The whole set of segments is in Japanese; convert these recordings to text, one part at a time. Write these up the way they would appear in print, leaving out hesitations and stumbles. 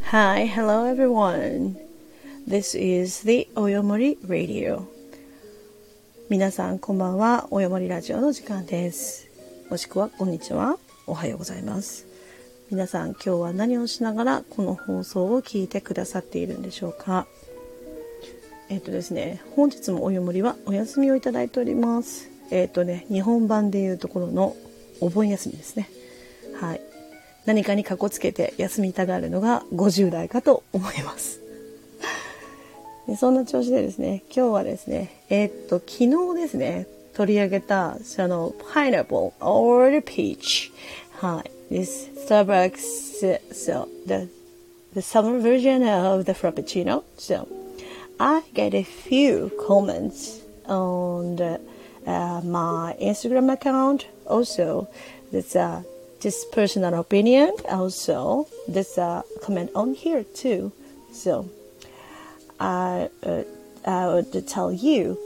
Hi, hello everyone. This is the Oyomori Radio. 皆さんこんばんは。およもりラジオの時間です。もしくはこんにちは。おはようございます。皆さん今日は何をしながらこの放送を聞いてくださっているんでしょうか。ですね、本日もおよもりはお休みをいただいております。日本版でいうところのお盆休みですね。はい。何かにかこつけて休みたがるのが50代かと思います。でそんな調子でですね、今日はですね、昨日ですね、取り上げたその pineapple or the peach、はい、this Starbucks so the summer version of the frappuccino. So I get a few comments on my Instagram account. Also, there's just personal opinion. Also, there's a comment on here too. So I would tell you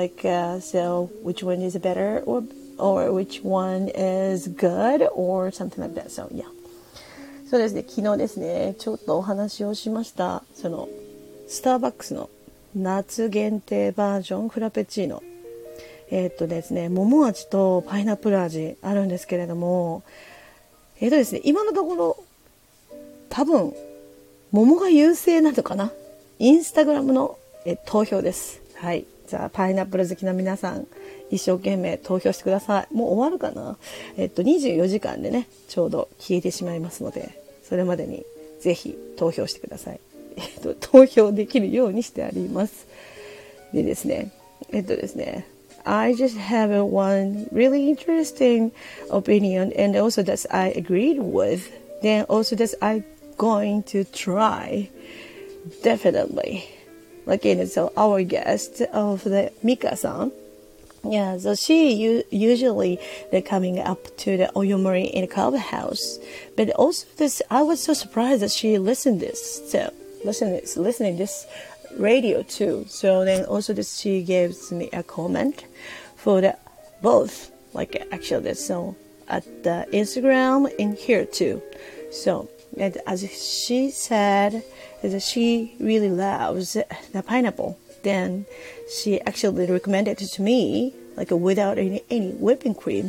so which one is better or which one is good or something like that. So yeah. そうですね。昨日ですね、ちょっとお話をしました。そのスターバックスの夏限定バージョンフラペチーノ。ですね、桃味とパイナップル味あるんですけれども、ですね、今のところ多分桃が優勢なのかな。インスタグラムの投票です。はい。じゃあパイナップル好きな皆さん一生懸命投票してください。もう終わるかな。24時間でねちょうど消えてしまいますので、それまでにぜひ投票してください。投票できるようにしてあります。でですね、ですね。I just have one really interesting opinion, and also that I agreed with. Then also that I going to try definitely. So our guest of the Mika-san. Yeah, so she usually coming up to the Oyomori in the clubhouse, but also this I was so surprised that she listened listening this radio too. So then also this she gives me a comment for the both, actually so at the Instagram and here too. So and as she said that she really loves the pineapple, then she actually recommended it to me without any whipping cream.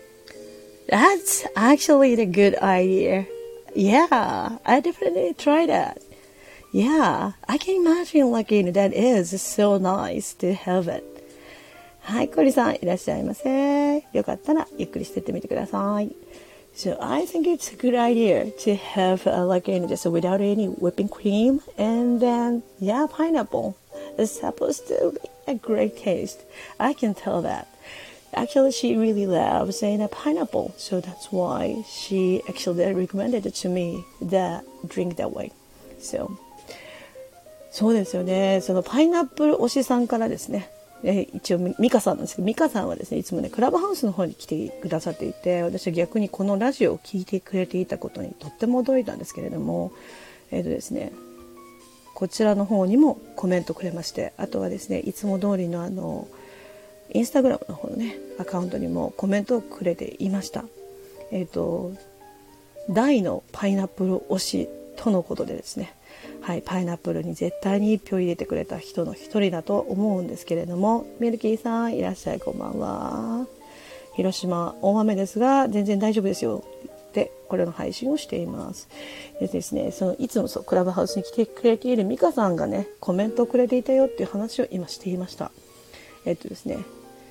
That's actually a good idea. Yeah, I definitely try that. Yeah, I can imagine that is so nice to have it. はい、コリさんいらっしゃいませ。よかったらゆっくりしてってみてください。So I think it's a good idea to have just without any whipping cream, and then pineapple is supposed to be a great taste. I can tell that. Actually, she really loves pineapple, so that's why she actually recommended to me the drink that way. So そうですよね。そのパイナップル推しさんからですね、一応ミカさんなんですけど、ミカさんはですね、いつもねクラブハウスの方に来てくださっていて、私は逆にこのラジオを聞いてくれていたことにとっても驚いたんですけれども、ですね、こちらの方にもコメントくれまして、あとはですね、いつも通りのインスタグラムの方のねアカウントにもコメントをくれていました。大のパイナップル推しとのことでですね、はい、パイナップルに絶対に1票入れてくれた人の一人だと思うんですけれども、ミルキーさんいらっしゃい、こんばんは。広島大雨ですが全然大丈夫ですよってこれの配信をしています。でですね、いつもクラブハウスに来てくれているミカさんがねコメントをくれていたよっていう話を今していました。ですね、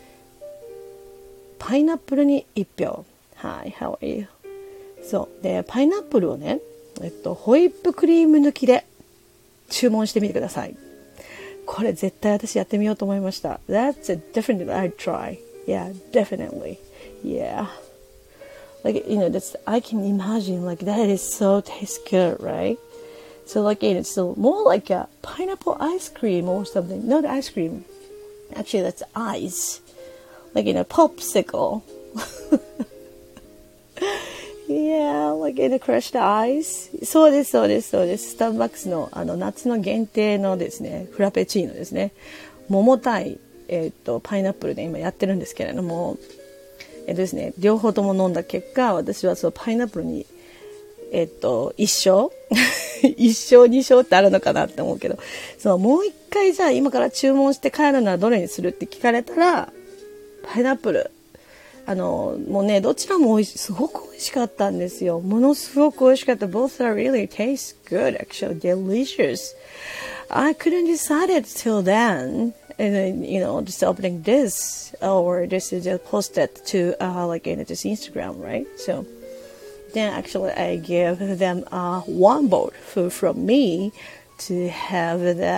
パイナップルに1票。はい、How are you? そうで、パイナップルをね、ホイップクリーム抜きで注文してみてください。これ絶対私やってみようと思いました。That's a definitely I'd try. Yeah, definitely. Yeah. That's I can imagine that is so tastes good, right? So it's more like a pineapple ice cream or something. Not ice cream. Actually, that's ice. Popsicle. Yeah, crushed ice. そうです。スターバックスの夏の限定のですね、フラペチーノですね。桃対パイナップルで今やってるんですけれども、ですね、両方とも飲んだ結果、私はそのパイナップルに一生一生二生ってあるのかなって思うけど、そう、もう一回じゃあ今から注文して帰るならどれにするって聞かれたら、パイナップル。もうね、どちらもすごく美味しかったんですよ。ものすごく美味しかった。Both are really taste good, actually, delicious. I couldn't decide it till then. And then, just opening this or this is just posted to like in this Instagram, right? So then actually I gave them one bowl from me to have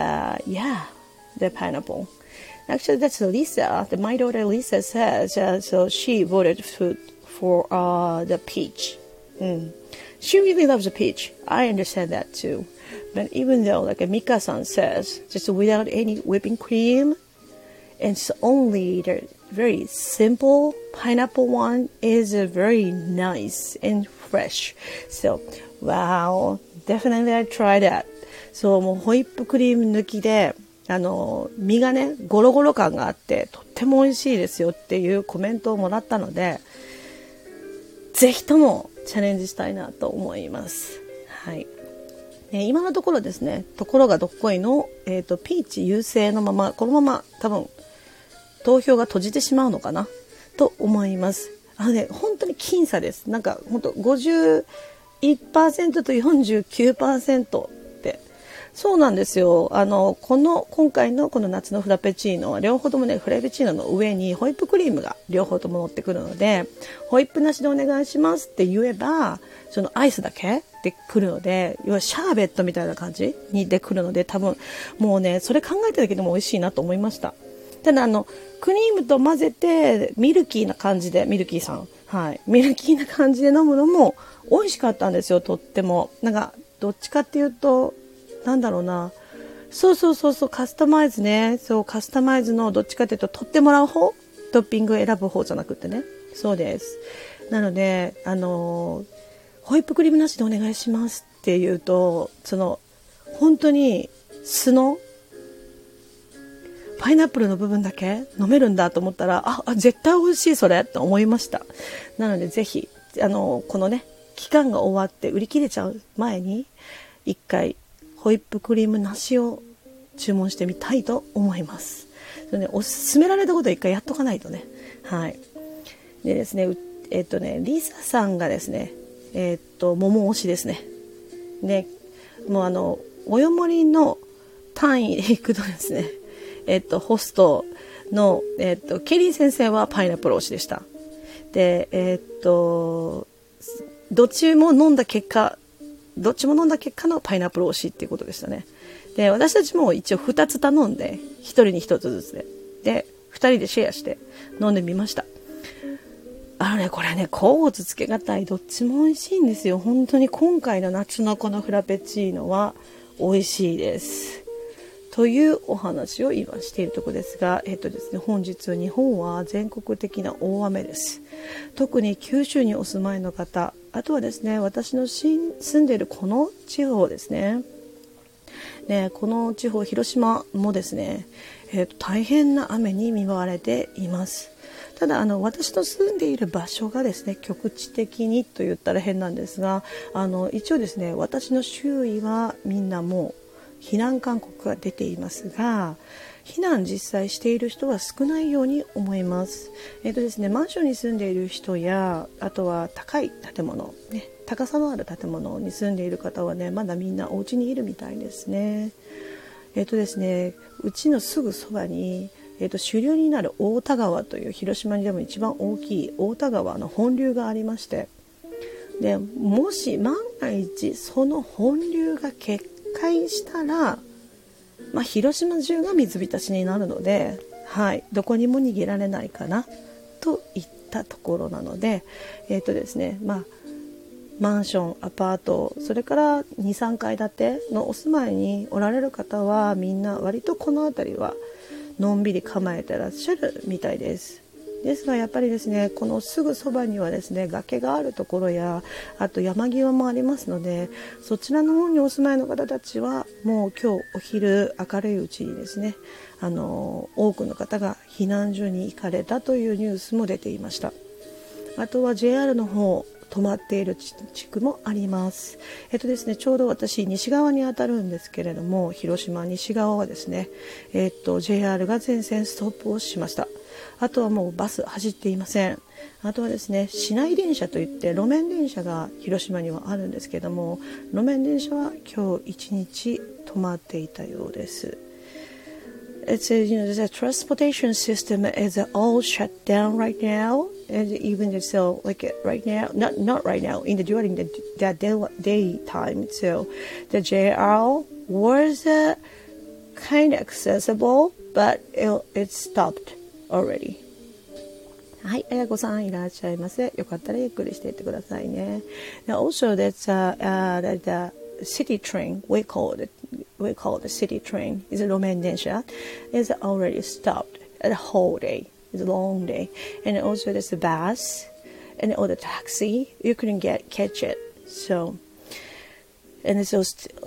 the pineapple. Actually, that's Lisa. My daughter Lisa says so. She voted for the peach. She really loves the peach. I understand that too. But even though, like Mika-san says, just without any whipping cream, and it's only the very simple pineapple one is very nice and fresh. So, wow, definitely I try that. そう、もうホイップクリーム抜きで、身がね、ゴロゴロ感があって、とっても美味しいですよっていうコメントをもらったので、ぜひともチャレンジしたいなと思います。はい。今のところですね、ところがどっこいの、ピーチ優勢のまま、このまま多分、投票が閉じてしまうのかなと思います。本当に僅差です。なんか、本当51% と 49%。そうなんですよ。今回のこの夏のフラペチーノは両方ともね、フラペチーノの上にホイップクリームが両方とも乗ってくるので、ホイップなしでお願いしますって言えば、そのアイスだけで来るので、要はシャーベットみたいな感じにで来るので、多分もうね、それ考えただけでも美味しいなと思いました。ただクリームと混ぜてミルキーな感じで、ミルキーさん、はい、ミルキーな感じで飲むのも美味しかったんですよ。とってもなんかどっちかっていうと、なんだろうな、そうカスタマイズね、そうカスタマイズのどっちかというと取ってもらう方、トッピング選ぶ方じゃなくてね、そうです。なのでホイップクリームなしでお願いしますっていうと、本当に素のパイナップルの部分だけ飲めるんだと思ったら、絶対美味しいそれと思いました。なのでぜひこのね、期間が終わって売り切れちゃう前に一回ホイップクリームなしを注文してみたいと思います。それね、おすすめられたことを一回やっとかないとね。はい。でですね、リサさんがですね、桃推しですね。ね、もうおよもりの単位でいくとですね、ホストの、ケリー先生はパイナップル推しでした。で、どっちも飲んだ結果のパイナップル推しっていうことでしたね。で、私たちも一応2つ頼んで、1人に1つずつで、2人でシェアして飲んでみました。これね、甲乙つけがたい、どっちも美味しいんですよ。本当に今回の夏のこのフラペチーノは美味しいです。というお話を今しているところですが、ですね、本日日本は全国的な大雨です。特に九州にお住まいの方、あとはですね、私の住んでいるこの地方ですね。この地方、広島もですね、大変な雨に見舞われています。ただ私の住んでいる場所がですね、局地的にと言ったら変なんですが、一応ですね、私の周囲はみんなもう避難勧告が出ていますが、避難実際している人は少ないように思います。ですね、マンションに住んでいる人や、あとは高い建物、ね、高さのある建物に住んでいる方はね、まだみんなお家にいるみたいですね。ですね、うちのすぐそばに、主流になる太田川という広島にでも一番大きい太田川の本流がありまして、でもし万が一その本流が決壊したら、広島中が水浸しになるので、どこにも逃げられないかなといったところなので、ですね、マンション、アパート、それから 2,3 階建てのお住まいにおられる方はみんな割とこの辺りはのんびり構えてらっしゃるみたいです。ですがやっぱりですね、このすぐそばにはですね、崖があるところや、あと山際もありますので、そちらの方にお住まいの方たちはもう今日お昼明るいうちにですね、多くの方が避難所に行かれたというニュースも出ていました。あとは JR の方、 止まっている地区もあります。ですね、ちょうど私西側に当たるんですけれども、広島西側はですね、JR が全線ストップをしました。あとはもうバス走っていません。あとはですね、市内電車といって路面電車が広島にはあるんですけども、路面電車は今日一日止まっていたようです。It says, the transportation system is all shut down right now, and even so, like right now, not right now, during the daytime. So the JR was kind of accessible, but it stopped already. はい、あやこさんいらっしゃいませ。よかったらゆっくりしていってくださいね。Now also, that's the city train. We call it the city train. Is a 路面電車 is already stopped the whole day. It's a long day, and also there's the bus and or the taxi. You couldn't catch it. So, and so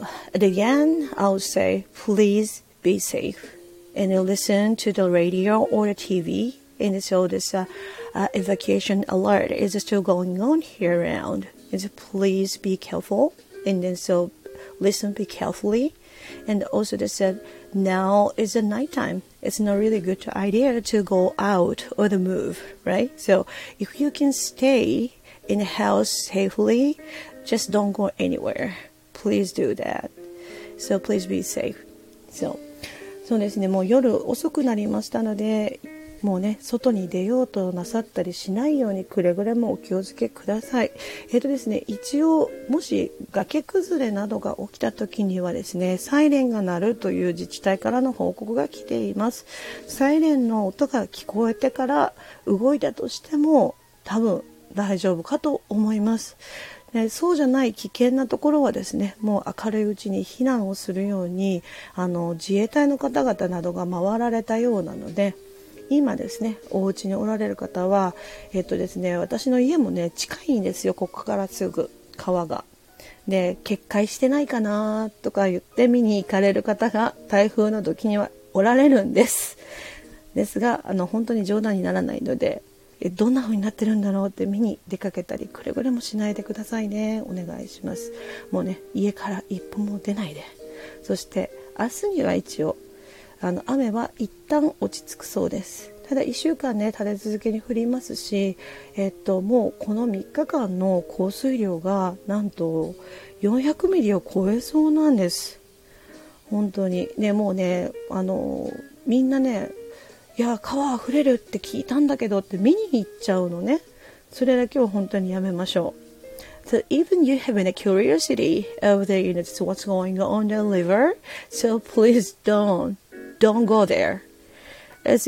again, I would say please be safe and listen to the radio or the TV. And so this evacuation alert is still going on here around. And so please be careful. And then so listen be carefully. And also they said now is the nighttime. It's not really good idea to go out or to move, right? So if you can stay in the house safely, just don't go anywhere. Please do that. So please be safe.そうですね、もう夜遅くなりましたので、もうね、外に出ようとなさったりしないようにくれぐれもお気をつけください。ですね、一応もし崖崩れなどが起きた時にはですね、サイレンが鳴るという自治体からの報告が来ています。サイレンの音が聞こえてから動いたとしても多分大丈夫かと思います。そうじゃない危険なところはですね、もう明るいうちに避難をするように自衛隊の方々などが回られたようなので、今ですね、お家におられる方はですね、私の家もね近いんですよ。ここからすぐ川がで、決壊してないかなとか言って見に行かれる方が台風の時にはおられるんですが、本当に冗談にならないので、どんな風になってるんだろうって見に出かけたりくれぐれもしないでくださいね。お願いします。もうね、家から一歩も出ないで。そして明日には一応雨は一旦落ち着くそうです。ただ1週間ね、立て続けに降りますし、もうこの3日間の降水量がなんと400ミリを超えそうなんです。本当にね、もうね、みんなね、いや川あふれるって聞いたんだけどって見に行っちゃうのね。それだけは本当にやめましょう。So even you have a curiosity of what's going on the river, so please don't go there. It's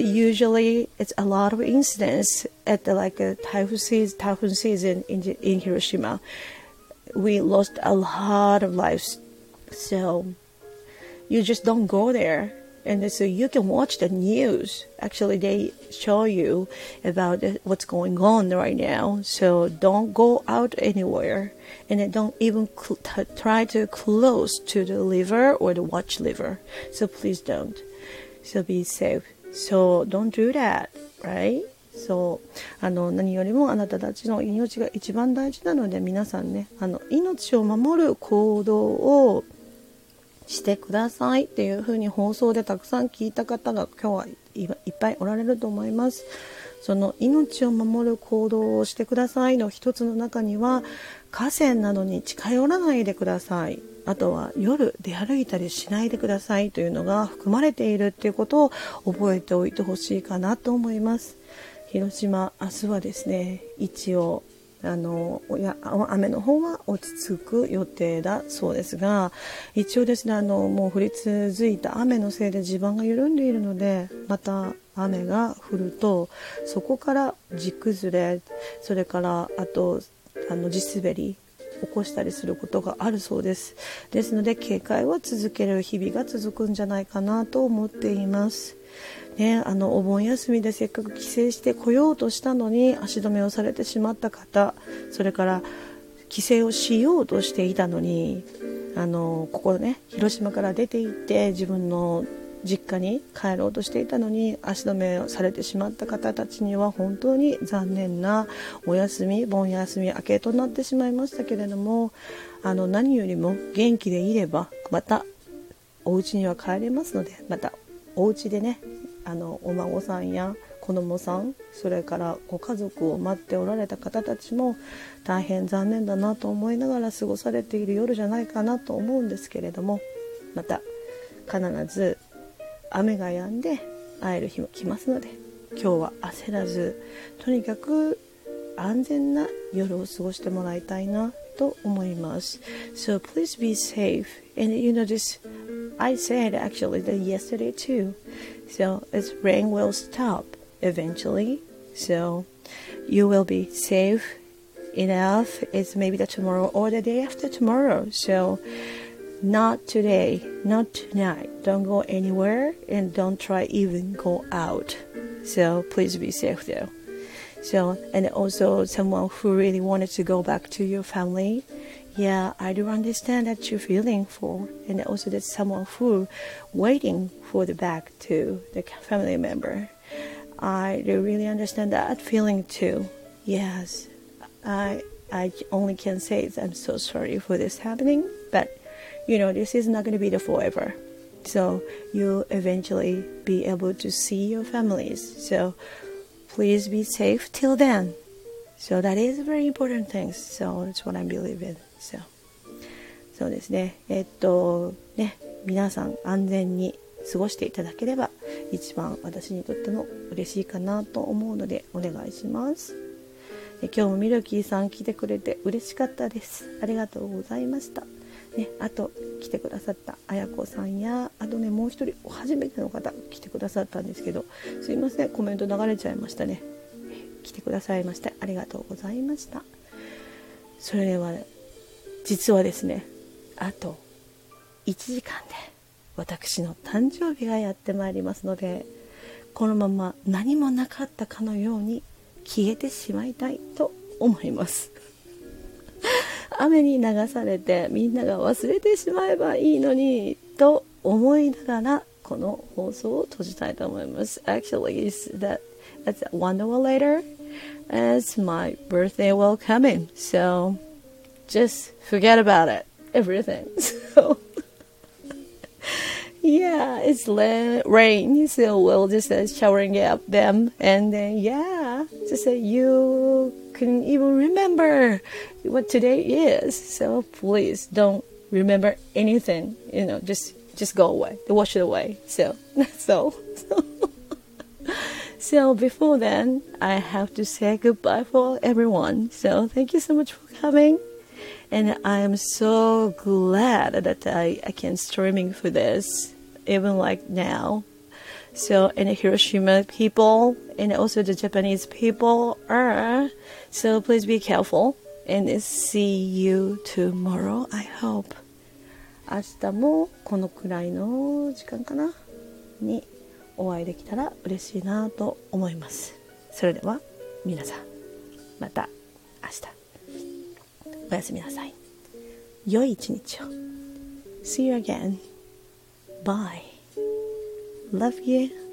a lot of incidents at the typhoon season in Hiroshima. We lost a lot of lives, so you just don't go there. And so you can watch the news. Actually, they show you about what's going on right now. So don't go out anywhere, and then don't even try to close to the river or the watch river. So please don't. So be safe. So don't do that, right? 何よりもあなたたちの命が一番大事なので、皆さんね、命を守る行動をしてくださいっていう風に放送でたくさん聞いた方が今日はいっぱいおられると思います。その命を守る行動をしてくださいの一つの中には、河川などに近寄らないでください、あとは夜出歩いたりしないでくださいというのが含まれているっていうことを覚えておいてほしいかなと思います。広島、明日はですね、一応雨の方は落ち着く予定だそうですが、一応ですね、もう降り続いた雨のせいで地盤が緩んでいるので、また雨が降るとそこから地崩れ、それからあと地滑り起こしたりすることがあるそうです。ですので警戒は続ける日々が続くんじゃないかなと思っていますね。お盆休みでせっかく帰省してこようとしたのに足止めをされてしまった方、それから帰省をしようとしていたのにここね、広島から出て行って自分の実家に帰ろうとしていたのに足止めをされてしまった方たちには本当に残念なお休み、盆休み明けとなってしまいましたけれども、何よりも元気でいればまたお家には帰れますので、またお家でね、お孫さんや子供さん、それからご家族を待っておられた方たちも大変残念だなと思いながら過ごされている夜じゃないかなと思うんですけれども、また必ず雨が止んで会える日も来ますので、今日は焦らずとにかく安全な夜を過ごしてもらいたいなと思います。 So please be safe, and this I said actually that yesterday too, so this rain will stop eventually, so you will be safe enough. It's maybe the tomorrow or the day after tomorrow, so not today, not tonight. Don't go anywhere and don't try even go out. So please be safe though. So, and also someone who really wanted to go back to your family, yeah, I do understand that you're feeling for, and also there's someone who waiting for the back to the family member. I do really understand that feeling too. Yes, I only can say is I'm so sorry for this happening, but this is not going to be the forever. So you'll eventually be able to see your families. So please be safe till then. So that is a very important thing. So that's what I believe in. So そうですね。皆さん安全に過ごしていただければ一番私にとっても嬉しいかなと思うのでお願いします。今日もミルキーさん来てくれて嬉しかったです。ありがとうございました。あと来てくださったあやこさんや、あとねもう一人初めての方来てくださったんですけど、すいませんコメント流れちゃいましたね。来てくださいましてありがとうございました。それでは実はですね、あと1時間で私の誕生日がやってまいりますので、このまま何もなかったかのように消えてしまいたいと思います雨に流されてみんなが忘れてしまえばいいのにと思いながらこの放送を閉じたいと思います。 Actually, that's 1 hour later as my birthday will come in, so just forget about it, everything. So yeah, it's rain, so we'll just showering up them, and then just you couldn't even remember what today is, so please don't remember anything, just go away, wash it away. So that's all. So before then, I have to say goodbye for everyone. So thank you so much for coming, and I am so glad that I can streaming for this, even like now. So, and the Hiroshima people and also the Japanese people are. So please be careful and see you tomorrow, I hope. 明日もこのくらいの時間かなにお会いできたら嬉しいなと思います。それでは皆さんまた明日おやすみなさい。良い一日を。See you again. Bye. Love you.